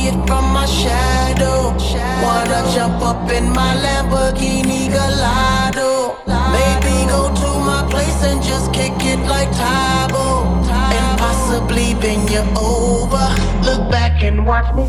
see it from my shadow. Wanna jump up in my Lamborghini Gallardo. Maybe go to my place and just kick it like Tybo. And possibly bend you over. Look back and watch me.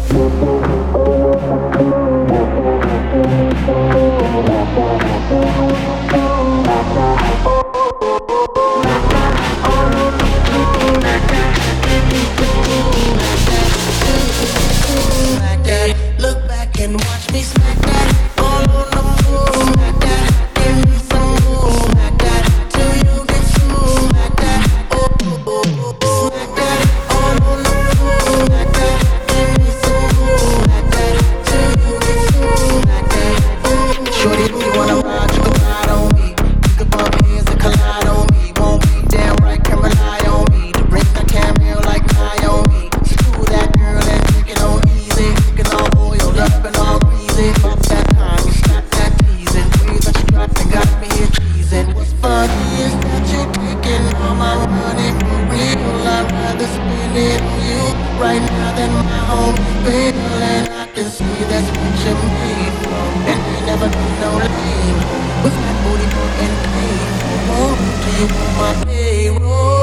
Look back and watch me smack that all on the floor. Smack that, give me some more. Smack that till you get smooth. Smack that, smack that all on the floor. Smack that, give me some more. Smack that till you get smooth. Smack that. Shorty, if you wanna ride, you can ride on me. You can bump heads and collide on me. Won't be damn right, can rely on me. The rings I can't feel like tie on me. Screw that girl and take it on easy. Take it all oiled up and all greasy. Bump that time, you stop that teasing. Way that you dropped and got me here cheesing. What's funny is that you're taking all my money for real. I'd rather spend it on you right now than my home bill. And I can see that's what you made from. And you never been no lame. With that booty and pain. Won't you on my payroll?